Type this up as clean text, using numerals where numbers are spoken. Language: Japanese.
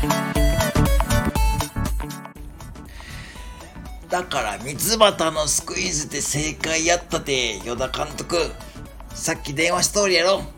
だから三つ葉のスクイズで正解やったで、与田監督。さっき電話しとるやろ。